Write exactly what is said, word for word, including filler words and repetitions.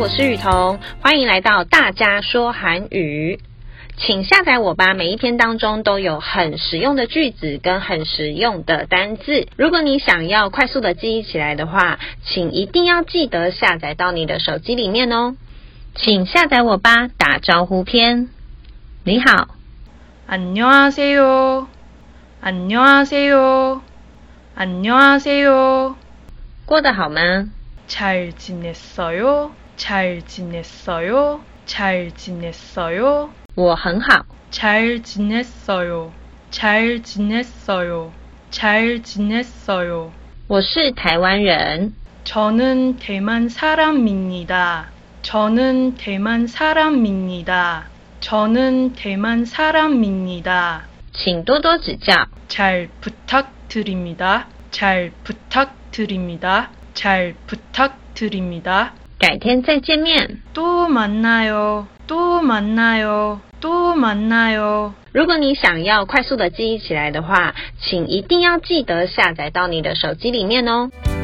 我是雨桐，欢迎来到大家说韩语。请下载我吧，每一篇当中都有很实用的句子跟很实用的单字。如果你想要快速的记忆起来的话，请一定要记得下载到你的手机里面哦。请下载我吧，打招呼篇。你好， 안녕하세요. 안녕하세요. 안녕하세요. 过得好吗？ 잘 지냈어요? 잘 지냈어요? 잘 지냈어요? 我很好。 잘 지냈어요. 잘 지냈어요. 잘 지냈어요. 我是台湾人。 저는 대만 사람입니다. 저는 대만 사람입니다. 저는 대만 사람입니다. 请多多指教。 잘 부탁드립니다. 잘 부탁드립니다. 잘 부탁드립니다. 改天再见面。 또 만나요. 또 만나요. 또 만나요. 如果你想要快速的记忆起来的话，请一定要记得下载到你的手机里面哦。